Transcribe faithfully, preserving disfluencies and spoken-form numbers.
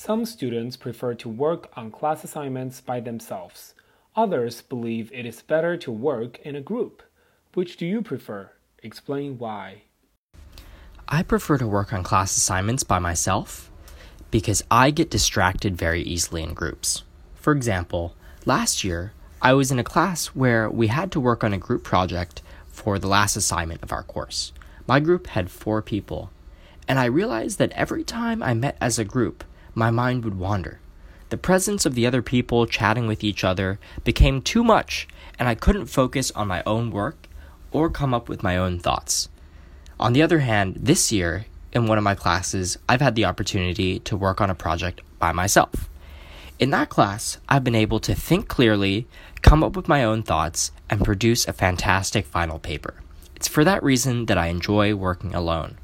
Some students prefer to work on class assignments by themselves. Others believe it is better to work in a group. Which do you prefer? Explain why. I prefer to work on class assignments by myself because I get distracted very easily in groups. For example, last year, I was in a class where we had to work on a group project for the last assignment of our course. My group had four people, and I realized that every time I met as a group, my mind would wander. The presence of the other people chatting with each other became too much, and I couldn't focus on my own work or come up with my own thoughts. On the other hand, this year, in one of my classes, I've had the opportunity to work on a project by myself. In that class, I've been able to think clearly, come up with my own thoughts, and produce a fantastic final paper. It's for that reason that I enjoy working alone.